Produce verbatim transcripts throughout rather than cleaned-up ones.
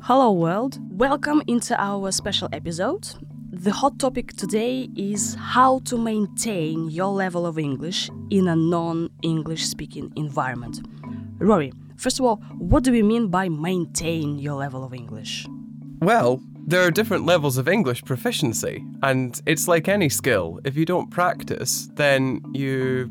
Hello world, welcome into our special episode. The hot topic today is how to maintain your level of English in a non-English speaking environment. Rory, first of all, what do we mean by maintain your level of English? Well, there are different levels of English proficiency, and it's like any skill. If you don't practice, then you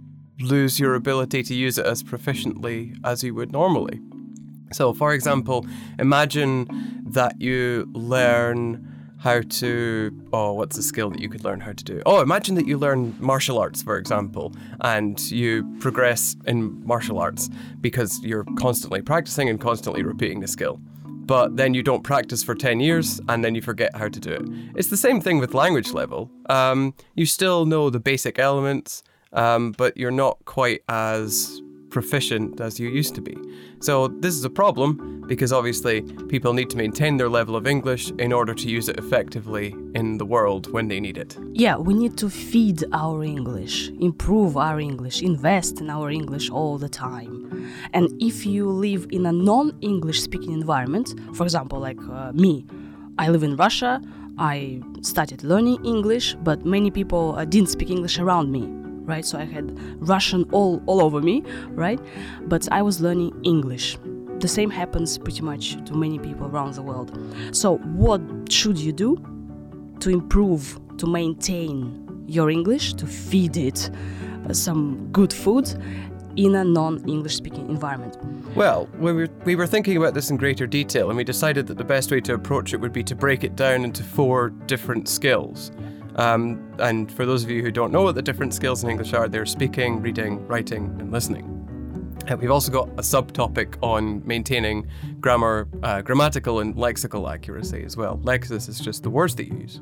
lose your ability to use it as proficiently as you would normally. So, for example, imagine that you learn how to, oh, what's a skill that you could learn how to do? Oh, imagine that you learn martial arts, for example, and you progress in martial arts because you're constantly practicing and constantly repeating the skill. But then you don't practice for ten years and then you forget how to do it. It's the same thing with language level. Um, you still know the basic elements, um, but you're not quite as proficient as you used to be. So this is a problem because obviously people need to maintain their level of English in order to use it effectively in the world when they need it. Yeah, we need to feed our English, improve our English, invest in our English all the time. And if you live in a non-English speaking environment, for example, like uh, me, I live in Russia, I started learning English, but many people uh, didn't speak English around me. Right, so I had Russian all, all over me, right? But I was learning English. The same happens pretty much to many people around the world. So what should you do to improve, to maintain your English, to feed it uh, some good food in a non-English speaking environment? Well, we were, we were thinking about this in greater detail, and we decided that the best way to approach it would be to break it down into four different skills. Um, and for those of you who don't know what the different skills in English are, they're speaking, reading, writing, and listening. And we've also got a subtopic on maintaining grammar, uh, grammatical and lexical accuracy as well. Lexis is just the words that you use.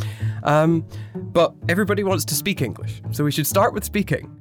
Um, but everybody wants to speak English, so we should start with speaking.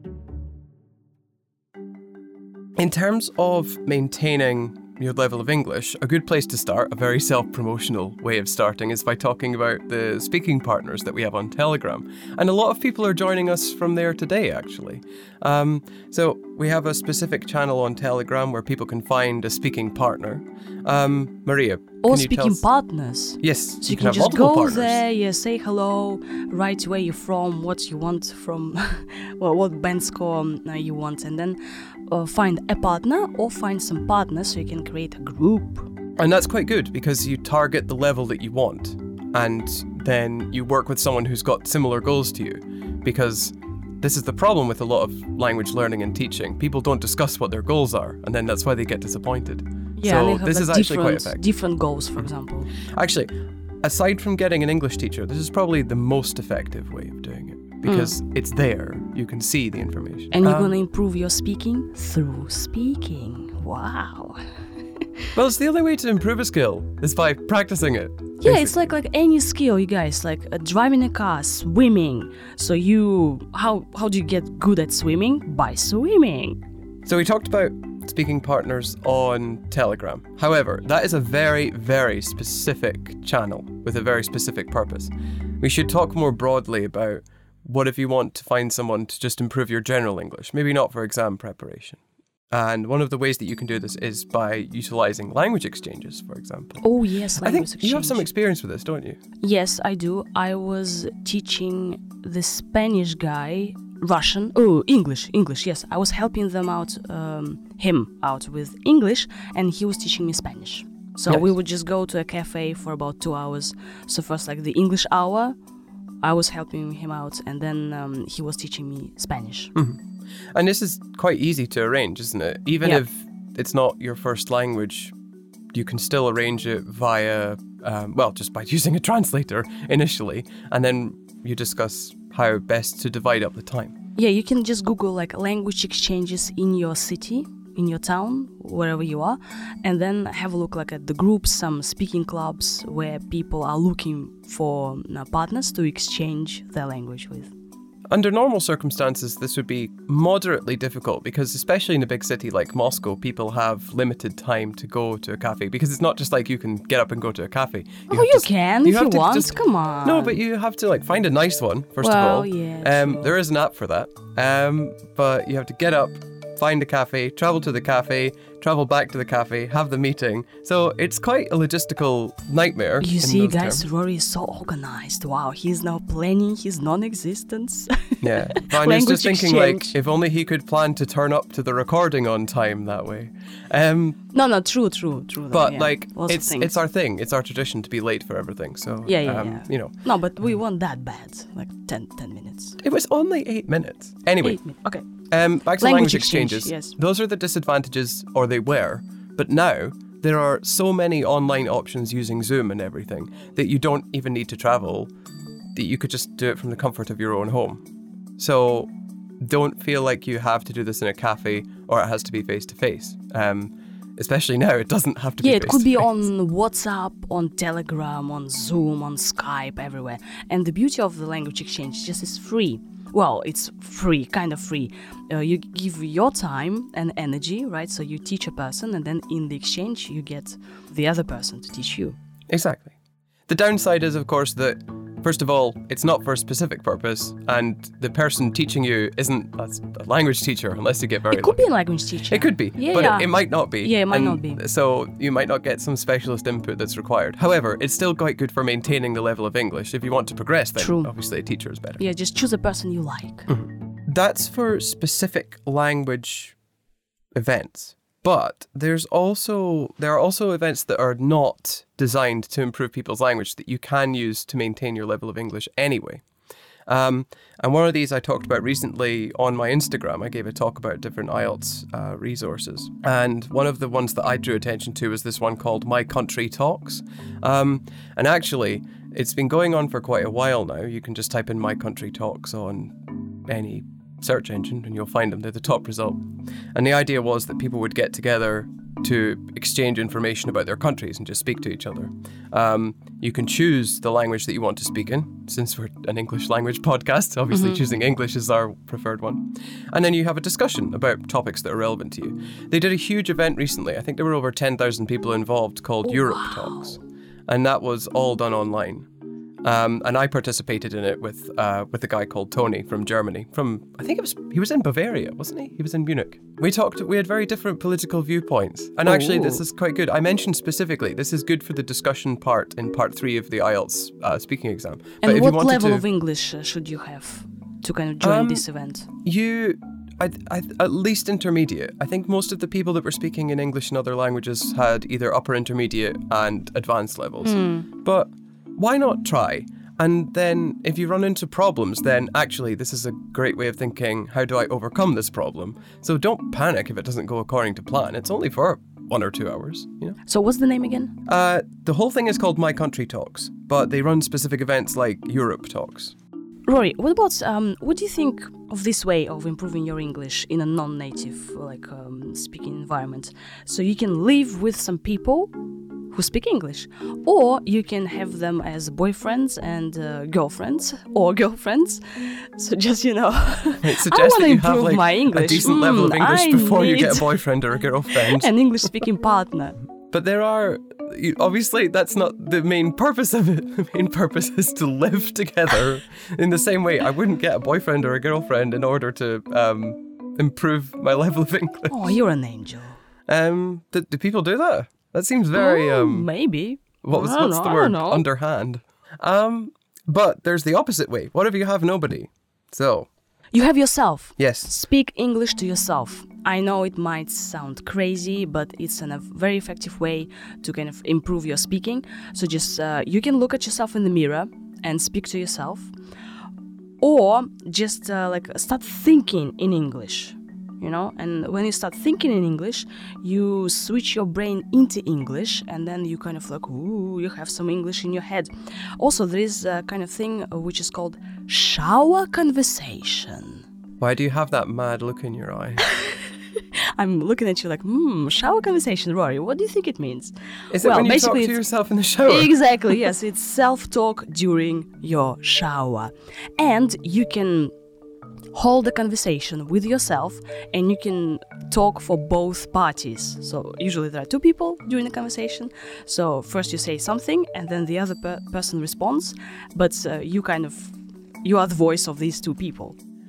In terms of maintaining your level of English, a good place to start, a very self-promotional way of starting, is by talking about the speaking partners that we have on Telegram. And a lot of people are joining us from there today, actually. Um, so we have a specific channel on Telegram where people can find a speaking partner. Um, Maria, Or can you tell speaking us? partners. Yes, So you, you can, have just multiple go partners. there, yeah, say hello, write where you're from, what you want from, well, what band score um, you want, and then uh, find a partner or find some partners so you can create a group. And that's quite good because you target the level that you want, and then you work with someone who's got similar goals to you, because this is the problem with a lot of language learning and teaching. People don't discuss what their goals are, and then that's why they get disappointed. Yeah, so and they have this like is actually quite different, effective. different goals, for example. Actually, aside from getting an English teacher, this is probably the most effective way of doing it, because mm. it's there. You can see the information. And you're um, going to improve your speaking through speaking. Wow. Well, it's the only way to improve a skill is by practicing it. Yeah, basically. it's like like any skill, you guys, like uh, driving a car, swimming. So you, how how do you get good at swimming? By swimming. So we talked about speaking partners on Telegram. However, that is a very, very specific channel with a very specific purpose. We should talk more broadly about what if you want to find someone to just improve your general English, maybe not for exam preparation. And one of the ways that you can do this is by utilizing language exchanges, for example. Oh yes, I language think exchange. you have some experience with this, don't you? Yes, I do. I was teaching the Spanish guy Russian. Oh, English, English. Yes, I was helping them out, um, him out with English, and he was teaching me Spanish. So Nice. we would just go to a cafe for about two hours. So first, like the English hour, I was helping him out, and then um, he was teaching me Spanish. Mm-hmm. And this is quite easy to arrange, isn't it? Even Yeah. if it's not your first language, you can still arrange it via, um, well, just by using a translator initially, and then you discuss how best to divide up the time. Yeah, you can just Google like language exchanges in your city, in your town, wherever you are, and then have a look like at the groups, some speaking clubs where people are looking for uh, partners to exchange their language with. Under normal circumstances, this would be moderately difficult because especially in a big city like Moscow, people have limited time to go to a cafe because it's not just like you can get up and go to a cafe. Oh, have you to- can if have you to want. just- Come on. No, but you have to like find a nice one, first Well, of all. yeah, Um, true. there is an app for that. Um, but you have to get up, find a cafe, travel to the cafe, travel back to the cafe, have the meeting. So it's quite a logistical nightmare. You in see, those guys, terms. Rory is so organized. Wow, he's now planning his non-existence. Yeah, but I was Language just thinking, exchange. like, if only he could plan to turn up to the recording on time that way. Um, No, no, true, true, true. though, but yeah. like, Lots of it's things. it's our thing. It's our tradition to be late for everything. So Yeah, yeah, um, yeah. you know, No, but we weren't that bad. Like ten, ten minutes. it was only eight minutes. Anyway, Eight minutes. Okay. um, back to Language language exchange, exchanges. yes. Those are the disadvantages, or they were. But now there are so many online options using Zoom and everything that you don't even need to travel. That you could just do it from the comfort of your own home. So don't feel like you have to do this in a cafe or it has to be face to face. Um, especially now, it doesn't have to Yeah, be. it could be face-to-face. on WhatsApp, on Telegram, on Zoom, on Skype, everywhere. And the beauty of the language exchange just is free. Well, it's free, kind of free. Uh, you give your time and energy, right? So you teach a person, and then in the exchange, you get the other person to teach you. Exactly. The downside is, of course, that first of all, it's not for a specific purpose, and the person teaching you isn't a a language teacher unless you get very It could lucky. be a language teacher. It could be, Yeah, but yeah. It, it might not be. Yeah, it might and not be. So you might not get some specialist input that's required. However, it's still quite good for maintaining the level of English. If you want to progress, then True. obviously a teacher is better. Yeah, just choose a person you like. That's for specific language events. But there's also there are also events that are not designed to improve people's language that you can use to maintain your level of English anyway. Um, and one of these I talked about recently on my Instagram. I gave a talk about different I E L T S uh, resources. And one of the ones that I drew attention to was this one called My Country Talks. Um, and actually, it's been going on for quite a while now. You can just type in My Country Talks on any search engine and you'll find them. They're the top result. And the idea was that people would get together to exchange information about their countries and just speak to each other. Um, you can choose the language that you want to speak in, since we're an English language podcast. Obviously, choosing English is our preferred one. And then you have a discussion about topics that are relevant to you. They did a huge event recently. I think there were over ten thousand people involved called Europe Talks. And that was all done online. Um, and I participated in it with uh, with a guy called Tony from Germany. From I think it was he was in Bavaria, wasn't he? He was in Munich. We talked. We had very different political viewpoints, and actually, this Ooh. is quite good. I mentioned specifically this is good for the discussion part in part three of the I E L T S uh, speaking exam. And if what you wanted level to, of English uh, should you have to kind of join Um, this event? you, I, I, at least intermediate. I think most of the people that were speaking in English and other languages had either upper intermediate and advanced levels. But why not try? And then if you run into problems, then actually this is a great way of thinking, how do I overcome this problem? So don't panic if it doesn't go according to plan. It's only for one or two hours, you know? So what's the name again? Uh, the whole thing is called My Country Talks, but they run specific events like Europe Talks. Rory, what about, um, what do you think of this way of improving your English in a non-native, like, um, speaking environment? So you can live with some people who speak English, or you can have them as boyfriends and uh, girlfriends, or girlfriends. So just, you know, It I suggests want that to you have improve like my English. a decent level of Mm, English I before you get a need boyfriend or a girlfriend. an English-speaking partner. But there are, you- obviously, that's not the main purpose of it. The main purpose is to live together. In the same way, I wouldn't get a boyfriend or a girlfriend in order to um, improve my level of English. Oh, you're an angel. Um, do, do people do that? That seems very, Oh, um, maybe. what was, I don't what's know, the I word? don't know. Underhand. Um, but there's the opposite way. What if you have nobody? So, You have yourself. yes. Speak English to yourself. I know it might sound crazy, but it's an, a very effective way to kind of improve your speaking. So just uh, you can look at yourself in the mirror and speak to yourself, or just uh, like start thinking in English. You know, and when you start thinking in English, you switch your brain into English, and then you kind of like, ooh, you have some English in your head. Also, there is a kind of thing uh, which is called shower conversation. Why do you have that mad look in your eye? I'm looking at you like, hmm, shower conversation, Rory. What do you think it means? Is it Well, when you talk basically to it's- yourself in the shower? Exactly, yes. It's self-talk during your shower. And you can hold a conversation with yourself, and you can talk for both parties. So usually there are two people during the conversation. So first you say something, and then the other per- person responds. But uh, you kind of, you are the voice of these two people.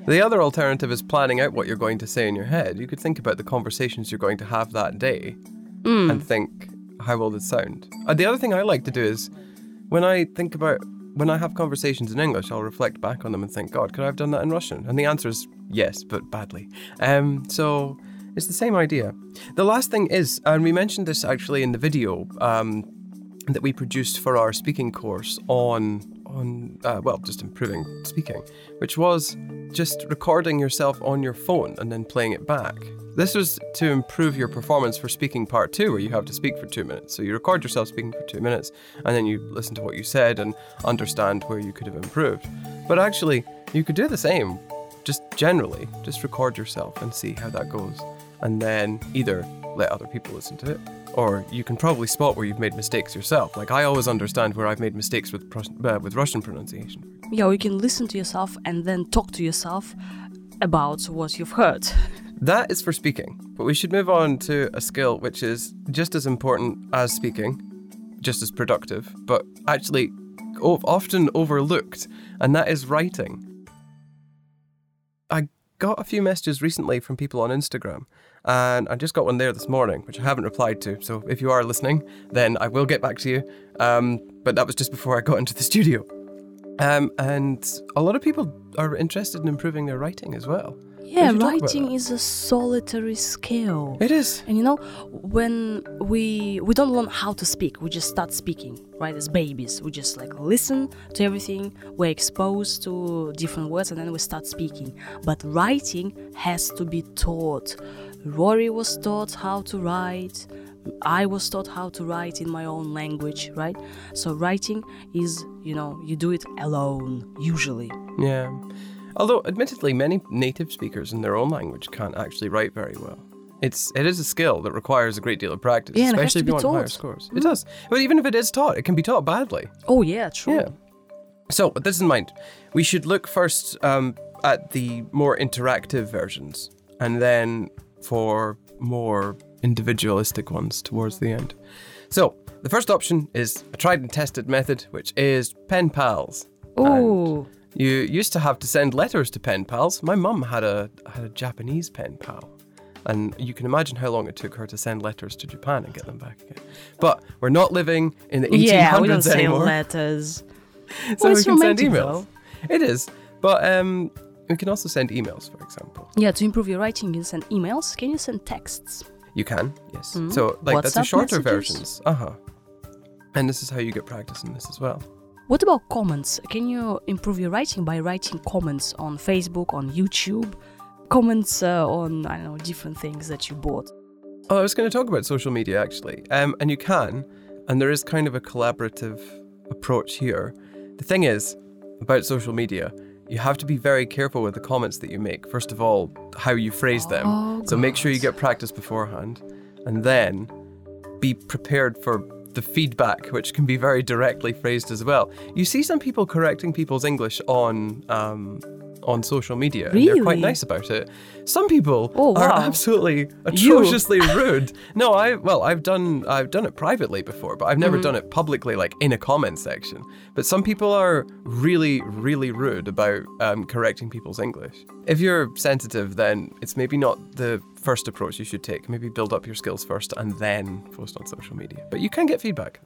The other alternative is planning out what you're going to say in your head. You could think about the conversations you're going to have that day Mm. and think, how will this sound? Uh, the other thing I like to do is when I think about, when I have conversations in English, I'll reflect back on them and think, God, could I have done that in Russian? And the answer is yes, but badly. Um, so it's the same idea. The last thing is, and we mentioned this actually in the video um, that we produced for our speaking course on, on uh, well, just improving speaking, which was just recording yourself on your phone and then playing it back. This was to improve your performance for speaking part two, where you have to speak for two minutes. So you record yourself speaking for two minutes, and then you listen to what you said and understand where you could have improved. But actually, you could do the same, just generally. Just record yourself and see how that goes. And then either let other people listen to it, or you can probably spot where you've made mistakes yourself. Like, I always understand where I've made mistakes with uh, with Russian pronunciation. Yeah, you can listen to yourself and then talk to yourself about what you've heard. That is for speaking, but we should move on to a skill which is just as important as speaking, just as productive, but actually often overlooked, and that is writing. I got a few messages recently from people on Instagram, and I just got one there this morning, which I haven't replied to, so if you are listening, then I will get back to you, um, but that was just before I got into the studio. Um, and a lot of people are interested in improving their writing as well. Yeah, writing is a solitary skill. It is. And you know, when we we don't learn how to speak, we just start speaking, right? As babies, we just like listen to everything, we're exposed to different words, and then we start speaking. But writing has to be taught. Rory was taught how to write. I was taught how to write in my own language, right? So writing is, you know, you do it alone, usually. Yeah. Although, admittedly, many native speakers in their own language can't actually write very well. It's it is a skill that requires a great deal of practice, Yeah, especially if you want taught. higher scores. It does. But even if it is taught, it can be taught badly. Oh yeah, true. Yeah. So, with this in mind, we should look first um, at the more interactive versions, and then for more individualistic ones towards the end. So, the first option is a tried and tested method, which is pen pals. Oh. You used to have to send letters to pen pals. My mum had a had a Japanese pen pal, and you can imagine how long it took her to send letters to Japan and get them back again. But we're not living in the eighteen hundreds Yeah, we don't send anymore, letters. so Well, we it's can send romantic, emails. It is, but um, we can also send emails, for example. Yeah, to improve your writing, you send emails. Can you send texts? You can, yes. Mm. So like that's the WhatsApp shorter messages? versions. Uh huh. And this is how you get practice in this as well. What about comments? Can you improve your writing by writing comments on Facebook, on YouTube? Comments uh, on, I don't know, different things that you bought. Oh, I was going to talk about social media actually. Um, and you can, and there is kind of a collaborative approach here. The thing is, about social media, you have to be very careful with the comments that you make. First of all, how you phrase them. Oh, so make sure you God. get practice beforehand, and then be prepared for the feedback, which can be very directly phrased as well. You see some people correcting people's English on um, on social media, and they're quite Really? nice about it. Some people Oh, are wow. absolutely atrociously rude. No, I well, I've done I've done it privately before, but I've never Mm-hmm. done it publicly, like in a comment section. But some people are really, really rude about um, correcting people's English. If you're sensitive, then it's maybe not the first approach you should take. Maybe build up your skills first and then post on social media. But you can get feedback.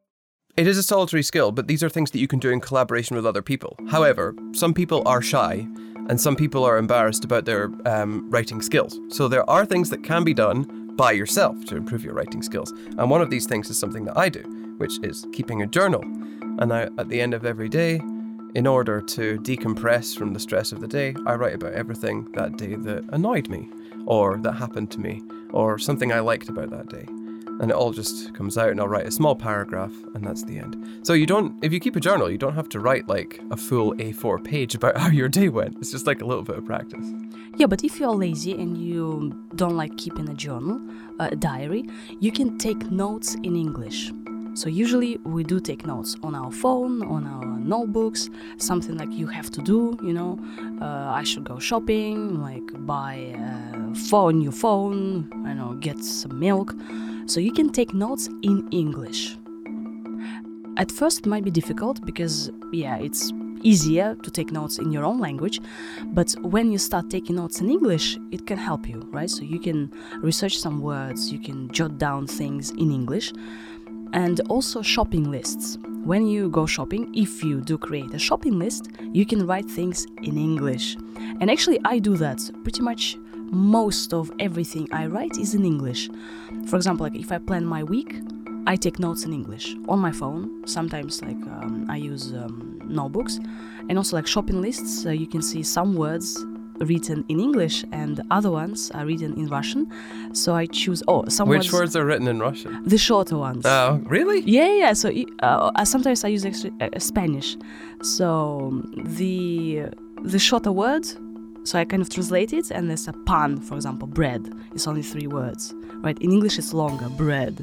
It is a solitary skill, but these are things that you can do in collaboration with other people. However, some people are shy and some people are embarrassed about their um, writing skills. So there are things that can be done by yourself to improve your writing skills. And one of these things is something that I do, which is keeping a journal. And I, at the end of every day, in order to decompress from the stress of the day, I write about everything that day that annoyed me, or that happened to me, or something I liked about that day. And it all just comes out, and I'll write a small paragraph, and that's the end. So you don't, if you keep a journal, you don't have to write like a full A four page about how your day went. It's just like a little bit of practice. Yeah, but if you're lazy and you don't like keeping a journal, uh, a diary, you can take notes in English. So usually we do take notes on our phone, on our notebooks, something like you have to do, you know, uh, I should go shopping, like buy a phone, new phone, I know, get some milk. So you can take notes in English. At first it might be difficult because, yeah, it's easier to take notes in your own language. But when you start taking notes in English, it can help you, right? So you can research some words, you can jot down things in English. And also shopping lists. When you go shopping, if you do create a shopping list, you can write things in English. And actually, I do that. Pretty much most of everything I write is in English. For example, like if I plan my week, I take notes in English on my phone. Sometimes like um, I use um, notebooks. And also like shopping lists, uh, you can see some words written in English and other ones are written in Russian. So I choose, oh, some Which words, words are written in Russian? the shorter ones. Oh, really? Yeah, yeah. So uh, sometimes I use actually, uh, Spanish. So the the shorter word, so I kind of translate it, and there's a pan, for example, bread. It's only three words, right? In English, it's longer, bread.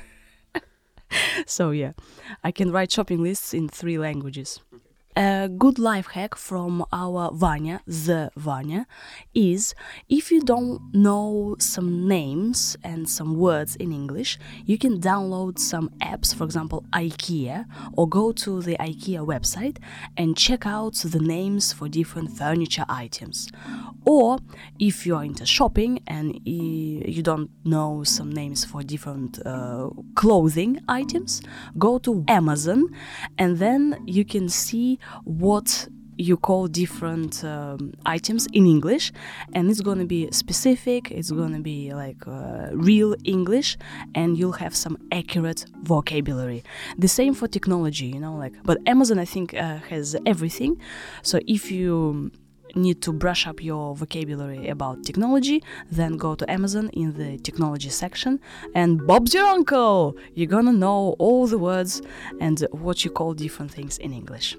So yeah, I can write shopping lists in three languages. A good life hack from our Vanya, the Vanya, is if you don't know some names and some words in English, you can download some apps, for example, IKEA, or go to the IKEA website and check out the names for different furniture items. Or if you are into shopping and you don't know some names for different uh, clothing items, go to Amazon and then you can see what you call different um, items in English, and it's going to be specific, it's going to be like uh, real English, and you'll have some accurate vocabulary. The same for technology, you know, like, but Amazon I think uh, has everything. So if you need to brush up your vocabulary about technology, then go to Amazon in the technology section, and Bob's your uncle! You're gonna know all the words and what you call different things in English.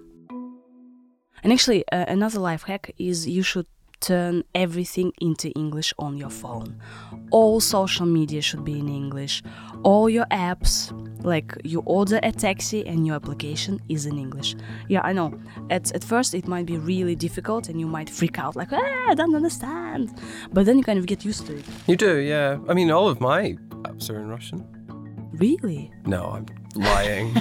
And actually, uh, another life hack is you should turn everything into English on your phone. All social media should be in English. All your apps, like you order a taxi and your application is in English. Yeah, I know. At, at first it might be really difficult and you might freak out like, ah, I don't understand. But then you kind of get used to it. You do, yeah. I mean, all of my apps are in Russian. Really? No, I'm lying.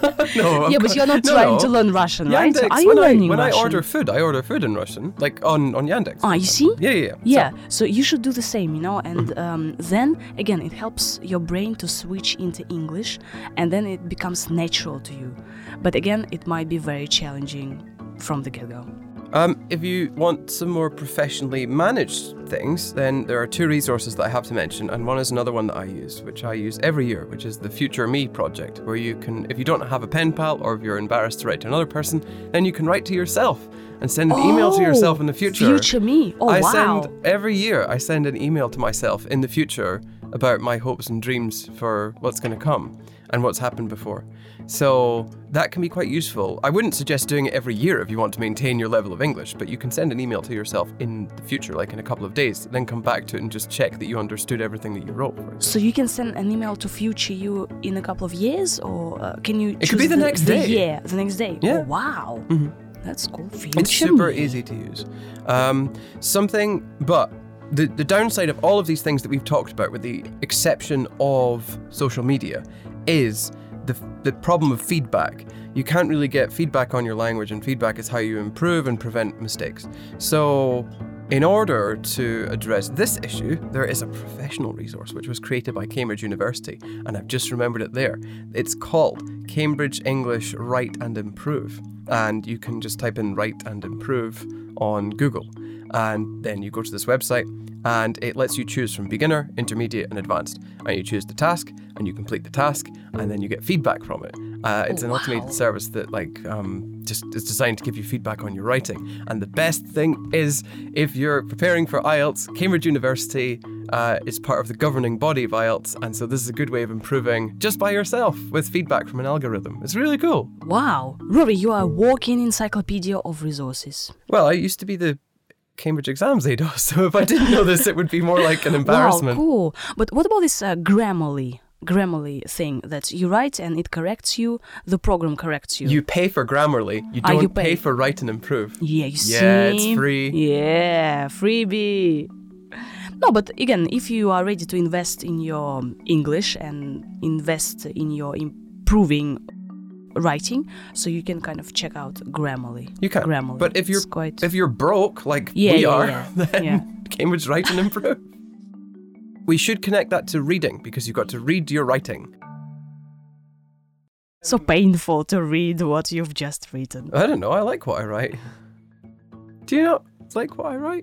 no, yeah, but you're not no, trying no. to learn Russian, right? Yandex, So are you when learning I, when Russian? I order food, I order food in Russian, like on, on Yandex. Ah, you see? Yeah, yeah, yeah. Yeah, So, so you should do the same, you know, and um, then, again, it helps your brain to switch into English, and then it becomes natural to you. But again, it might be very challenging from the get-go. Um, if you want some more professionally managed things, then there are two resources that I have to mention, and one is another one that I use, which I use every year, which is the Future Me project, where you can, if you don't have a pen pal, or if you're embarrassed to write to another person, then you can write to yourself and send an oh, email to yourself in the future. Future Me. Oh, I wow. send, every year, I send an email to myself in the future about my hopes and dreams for what's going to come and what's happened before. So that can be quite useful. I wouldn't suggest doing it every year if you want to maintain your level of English, but you can send an email to yourself in the future, like in a couple of days, then come back to it and just check that you understood everything that you wrote. So you can send an email to future you in a couple of years, or uh, can you It could be the, the next the day. year, the next day? Yeah. Oh, wow. Mm-hmm. That's cool. Future It's super Me. easy to use. Um, something, but the, the downside of all of these things that we've talked about, with the exception of social media, is the the problem of feedback. You can't really get feedback on your language, and feedback is how you improve and prevent mistakes. So in order to address this issue, there is a professional resource which was created by Cambridge University, and I've just remembered it there. It's called Cambridge English Write and Improve, and you can just type in Write and Improve on Google, and then you go to this website, and it lets you choose from beginner, intermediate, and advanced. And you choose the task, and you complete the task, and then you get feedback from it. Uh, it's Oh, an wow. automated service that, like, um, just is designed to give you feedback on your writing. And the best thing is, if you're preparing for I E L T S, Cambridge University uh, is part of the governing body of I E L T S, and so this is a good way of improving just by yourself with feedback from an algorithm. It's really cool. Wow. Rory, you are a walking encyclopedia of resources. Well, I used to be the Cambridge exams A D O S, so if I didn't know this, it would be more like an embarrassment. Wow, cool. But what about this uh, Grammarly? Grammarly thing that you write and it corrects you, the program corrects you. You pay for Grammarly, you Ah, don't you pay. pay. for Write and Improve. Yeah, you see? Yeah, it's free. Yeah, freebie. No, but again, if you are ready to invest in your English and invest in your improving writing, so you can kind of check out Grammarly. You can. Grammarly. But if you're It's quite... if you're broke like Yeah, we yeah, are, yeah. then Yeah. Cambridge Write and Improve. We should connect that to reading because you've got to read your writing. So painful to read what you've just written. I don't know. I like what I write. Do you not like what I write?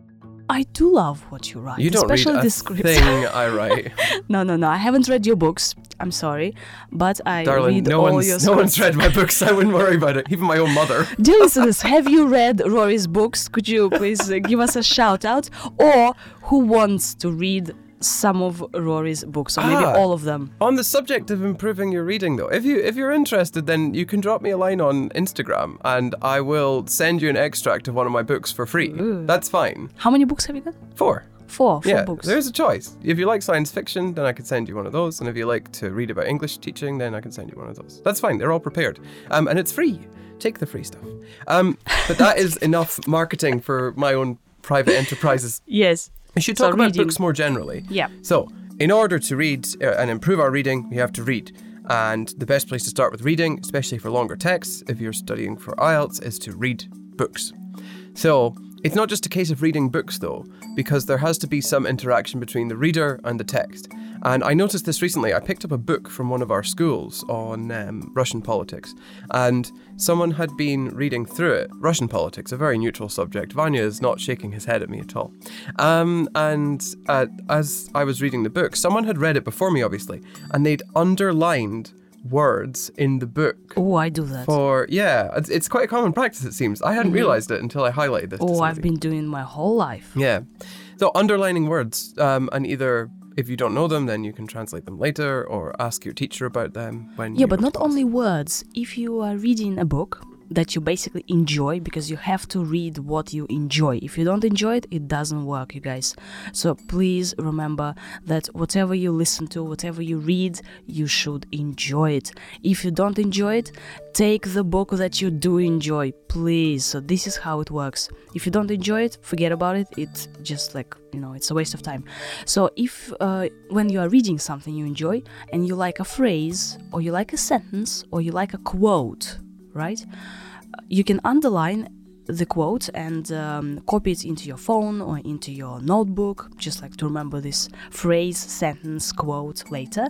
I do love what you write, You don't especially read a the scripts. thing I write. No, no, no. I haven't read your books. I'm sorry, but I Darling, read no all one's your no scripts. one's read my books. I wouldn't worry about it. Even my own mother. Dear listeners, have you read Rory's books? Could you please uh, give us a shout out? Or who wants to read some of Rory's books, or maybe Ah. all of them? On the subject of improving your reading, though, if you if you're interested, then you can drop me a line on Instagram, and I will send you an extract of one of my books for free. Ooh. That's fine. How many books have you got? Four. Four. Four Yeah, books. there's a choice. If you like science fiction, then I could send you one of those. And if you like to read about English teaching, then I can send you one of those. That's fine. They're all prepared. Um, and it's free. Take the free stuff. Um, but that is enough marketing for my own private enterprises. Yes. We should So talk about reading. books more generally. Yeah. So, in order to read uh, and improve our reading, we have to read. And the best place to start with reading, especially for longer texts, if you're studying for I E L T S, is to read books. So, it's not just a case of reading books though, because there has to be some interaction between the reader and the text. And I noticed this recently. I picked up a book from one of our schools on um, Russian politics, and someone had been reading through it. Russian politics, a very neutral subject. Vanya is not shaking his head at me at all. Um, and uh, as I was reading the book, someone had read it before me, obviously, and they'd underlined words in the book. Oh, I do that. For yeah, it's, it's quite a common practice, it seems. I hadn't realised it until I highlighted this. to Oh, I've somebody. been doing my whole life. Yeah. So underlining words, um, and either if you don't know them, then you can translate them later or ask your teacher about them when. Yeah, you but go not to class. only words. If you are reading a book that you basically enjoy, because you have to read what you enjoy. If you don't enjoy it, it doesn't work, you guys. So please remember that whatever you listen to, whatever you read, you should enjoy it. If you don't enjoy it, take the book that you do enjoy, please. So this is how it works. If you don't enjoy it, forget about it. It's just like, you know, it's a waste of time. So if uh, when you are reading something you enjoy and you like a phrase or you like a sentence or you like a quote, right? You can underline the quote and um, copy it into your phone or into your notebook, just like to remember this phrase, sentence, quote later,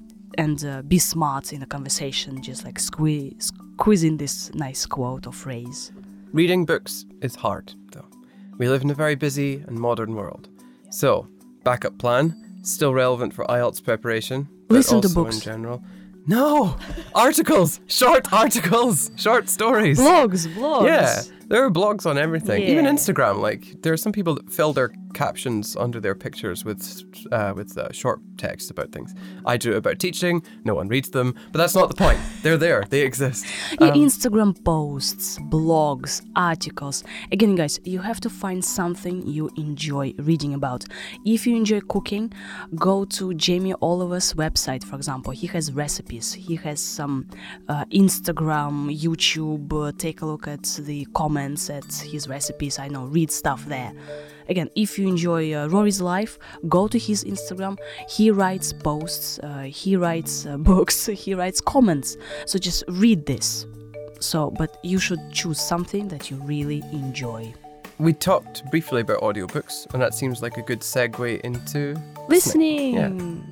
and uh, be smart in a conversation, just like squeeze, squeeze in this nice quote or phrase. Reading books is hard, though. We live in a very busy and modern world. So, backup plan, still relevant for I E L T S preparation, but Listen to also books. in general. No! Articles! Short articles! Short stories! Blogs, blogs. Yeah, there are blogs on everything. Even Yeah. Instagram. Like, there are some people that fill their captions under their pictures with uh, with uh, short text about things. I do it about teaching. No one reads them, but that's not the point. They're there. They exist. Yeah, Um, Instagram posts, blogs, articles. Again, guys, you have to find something you enjoy reading about. If you enjoy cooking, go to Jamie Oliver's website, for example. He has recipes. He has some uh, Instagram, YouTube. Uh, take a look at the comments at his recipes. I know, read stuff there. Again, if you enjoy uh, Rory's life, go to his Instagram. He writes posts, uh, he writes uh, books, he writes comments. So just read this. So, but you should choose something that you really enjoy. We talked briefly about audiobooks, and that seems like a good segue into Listening! Yeah.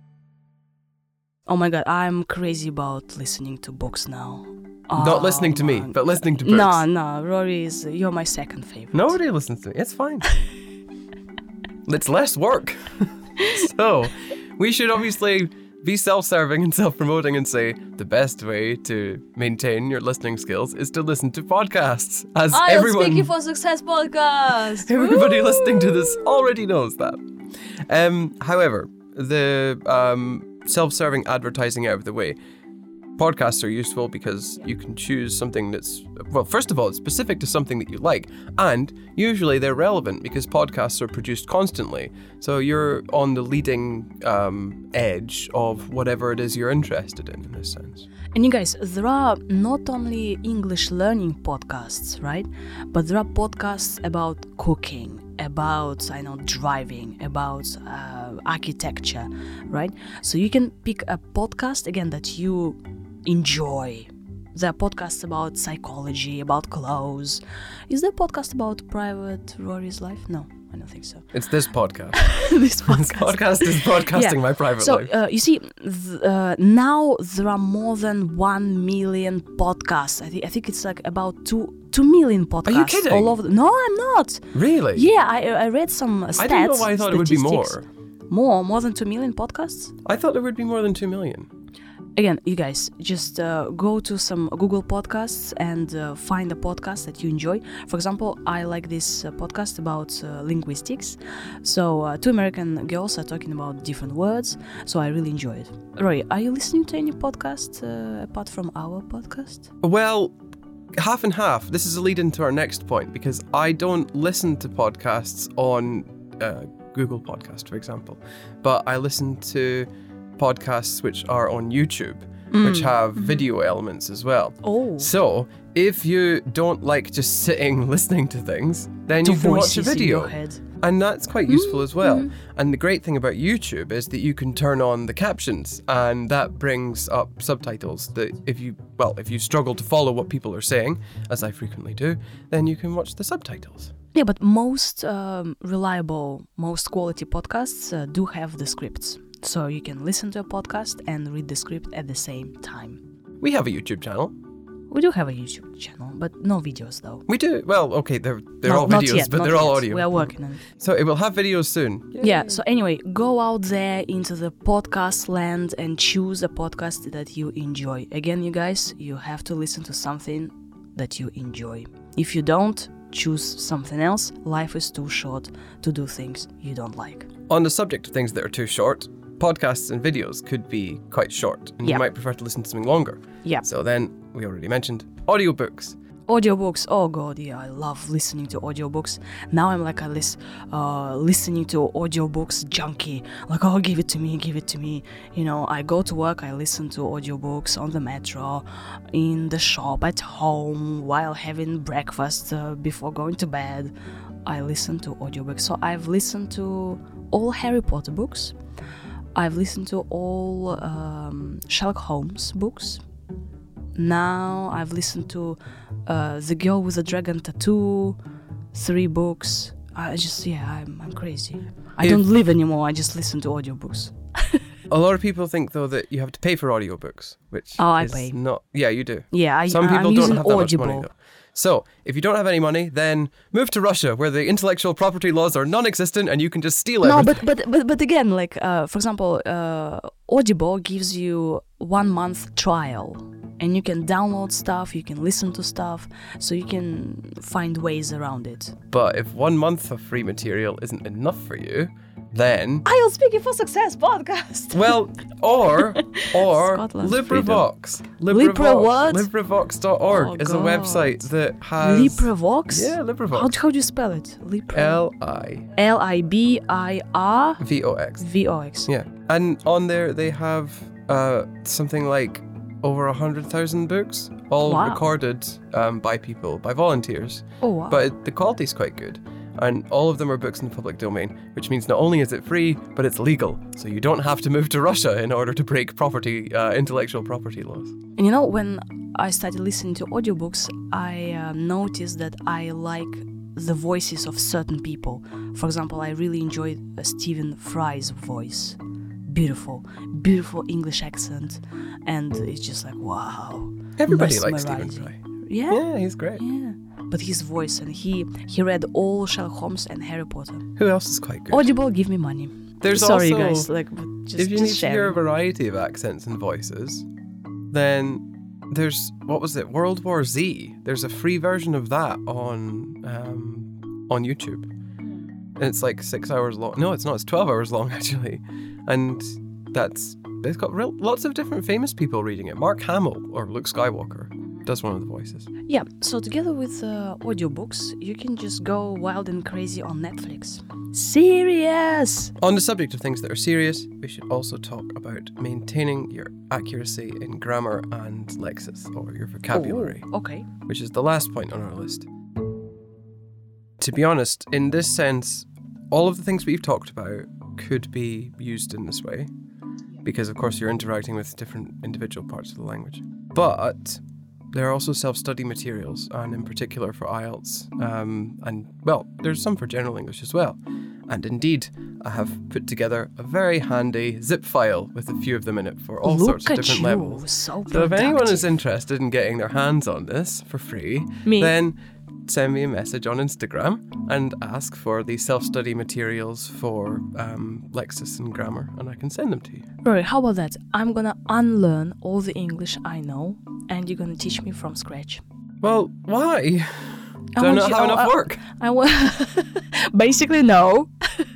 Oh my god, I'm crazy about listening to books now. Not Oh, listening to me, man. but listening to books. No, no, Rory is, you're my second favorite. Nobody listens to me. It's fine. It's less work. So, we should obviously be self-serving and self-promoting and say the best way to maintain your listening skills is to listen to podcasts. As I am everyone, Speaking for Success podcast. everybody Woo! listening to this already knows that. Um, however, the um, self-serving advertising out of the way, podcasts are useful because you can choose something that's, well, first of all, it's specific to something that you like, and usually they're relevant because podcasts are produced constantly. So you're on the leading um, edge of whatever it is you're interested in, in this sense. And you guys, there are not only English learning podcasts, right? But there are podcasts about cooking, about, I know, driving, about uh, architecture, right? So you can pick a podcast, again, that you enjoy. There are podcasts about psychology, about clothes. Is there a podcast about Private Rory's life? No, I don't think so. It's this podcast. This podcast. This podcast is broadcasting Yeah. my private So, life. uh, you see, th- uh, now there are more than one million podcasts. I, th- I think it's like about two two million podcasts. kidding? All over. The- no, I'm not. Really? Yeah, I I read some stats. I didn't know why I thought it would be statistics. more. More, more than two million podcasts. I thought there would be more than two million. Again, you guys, just uh, go to some Google podcasts and uh, find a podcast that you enjoy. For example, I like this uh, podcast about uh, linguistics. So uh, two American girls are talking about different words. So I really enjoy it. Roy, are you listening to any podcast uh, apart from our podcast? Well, half and half. This is a lead into our next point because I don't listen to podcasts on uh, Google Podcast, for example, but I listen to podcasts which are on YouTube, which have video elements as well. Oh. So if you don't like just sitting listening to things, then To you can watch a voices in video. your head. And that's quite useful as well. And the great thing about YouTube is that you can turn on the captions and that brings up subtitles that if you, well, if you struggle to follow what people are saying, as I frequently do, then you can watch the subtitles. Yeah, but most um, reliable, most quality podcasts uh, do have the scripts. So you can listen to a podcast and read the script at the same time. We have a YouTube channel. We do have a YouTube channel, but no videos though. We do. Well, okay, they're they're No, all not videos, yet, but not they're all yet. audio. We are working on it. So it will have videos soon. Yeah, so anyway, go out there into the podcast land and choose a podcast that you enjoy. Again, you guys, you have to listen to something that you enjoy. If you don't, choose something else. Life is too short to do things you don't like. On the subject of things that are too short, podcasts and videos could be quite short, and Yeah. you might prefer to listen to something longer. Yeah. So then, we already mentioned audiobooks. Audiobooks, oh god, yeah, I love listening to audiobooks. Now I'm like a lis- uh, listening to audiobooks junkie. Like, oh, give it to me, give it to me. You know, I go to work, I listen to audiobooks on the metro, in the shop, at home, while having breakfast, uh, before going to bed. I listen to audiobooks. So I've listened to all Harry Potter books. I've listened to all um, Sherlock Holmes books. Now I've listened to uh, The Girl with the Dragon Tattoo, three books. I just, yeah, I'm, I'm crazy. I If- don't live anymore, I just listen to audiobooks. A lot of people think, though, that you have to pay for audiobooks, which Oh, I is pay. not... Yeah, you do. Yeah, I, Some I'm people don't using have that Audible. much money, though. So, if you don't have any money, then move to Russia, where the intellectual property laws are non-existent and you can just steal No, everything. but, but but but again, like uh, for example, uh, Audible gives you one month trial, and you can download stuff, you can listen to stuff, so you can find ways around it. But if one month of free material isn't enough for you, then... I will Speaking for Success podcast. Well, or or Scotland's LibriVox. Libra what? LibriVox dot org Oh, is a God. website that has... LibriVox? Yeah, LibriVox. How, how do you spell it? Libra. L I L I B I R V O X. V O X. Yeah. And on there they have uh, something like over one hundred thousand books, all Wow. recorded um, by people, by volunteers. Oh wow. But it, the quality's quite good. And all of them are books in the public domain, which means not only is it free, but it's legal. So you don't have to move to Russia in order to break property, uh, intellectual property laws. And you know, when I started listening to audiobooks, I uh, noticed that I like the voices of certain people. For example, I really enjoyed uh, Stephen Fry's voice. Beautiful, beautiful English accent. And it's just like, wow. Everybody likes Stephen mesmerizing. Fry. Yeah? Yeah, he's great. Yeah. But his voice, and he he read all Sherlock Holmes and Harry Potter. Who else is quite good? Audible, give me money. There's Sorry, also, guys. Like, but just, if you just need share. to hear a variety of accents and voices, then there's, what was it, World War Z. There's a free version of that on um, on YouTube. And it's like six hours long. No, it's not. It's twelve hours long, actually. And that's, it's got real, lots of different famous people reading it. Mark Hamill, or Luke Skywalker, does one of the voices. Yeah, so together with uh, audiobooks, you can just go wild and crazy on Netflix. Serious! On the subject of things that are serious, we should also talk about maintaining your accuracy in grammar and lexis, or your vocabulary, Oh, okay. which is the last point on our list. To be honest, in this sense, all of the things we've talked about could be used in this way. because of course you're interacting with different individual parts of the language. But there are also self-study materials, and in particular for I E L T S, um, and well, there's some for general English as well. And indeed, I have put together a very handy zip file with a few of them in it for all Look sorts of at different you, levels. So, So if anyone is productive. interested in getting their hands on this for free, Me. then send me a message on Instagram and ask for the self-study materials for um, Lexis and grammar, and I can send them to you. Rory, how about that? I'm gonna unlearn all the English I know, and you're gonna teach me from scratch. Well, why? I Do I want not you- have oh, enough I- work? I want. Basically, no.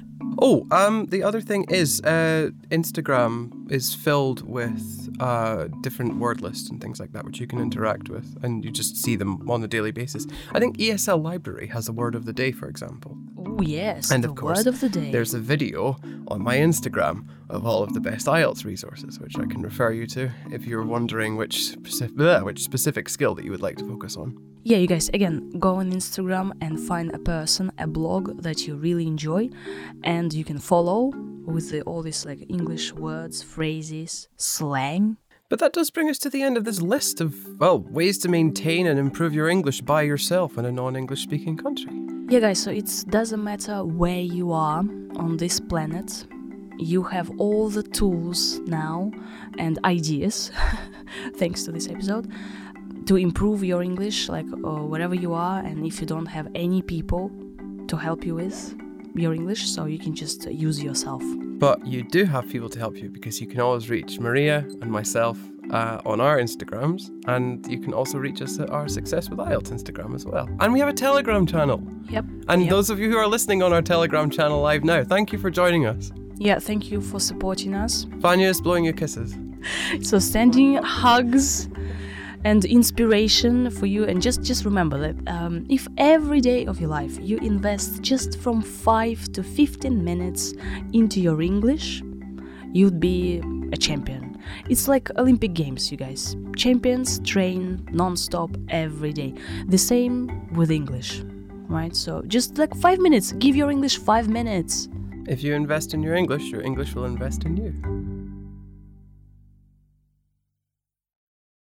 Oh, um, the other thing is, uh, Instagram is filled with uh, different word lists and things like that, which you can interact with, and you just see them on a daily basis. I think E S L Library has a word of the day, for example. Oh yes, And the of course, word of the day. There's a video on my Instagram of all of the best I E L T S resources, which I can refer you to if you're wondering which specific, bleh, which specific skill that you would like to focus on. Yeah, you guys, again, go on Instagram and find a person, a blog that you really enjoy, and you can follow with the, all these like English words, phrases, slang. But that does bring us to the end of this list of, well, ways to maintain and improve your English by yourself in a non-English speaking country. Yeah, guys, so it doesn't matter where you are on this planet. You have all the tools now and ideas, thanks to this episode, to improve your English, like uh, wherever you are, and if you don't have any people to help you with your English, so you can just uh, use yourself. But you do have people to help you, because you can always reach Maria and myself uh, on our Instagrams, and you can also reach us at our Success with I E L T S Instagram as well. And we have a Telegram channel. Yep. And yep. those of you who are listening on our Telegram channel live now, thank you for joining us. Yeah, thank you for supporting us. Vanya is blowing you kisses. So sending hugs and inspiration for you, and just just remember that um, if every day of your life you invest just from five to fifteen minutes into your English, you'd be a champion. It's like Olympic Games, you guys. Champions train non-stop every day. The same with English, right? So just like five minutes, give your English five minutes. If you invest in your English, your English will invest in you.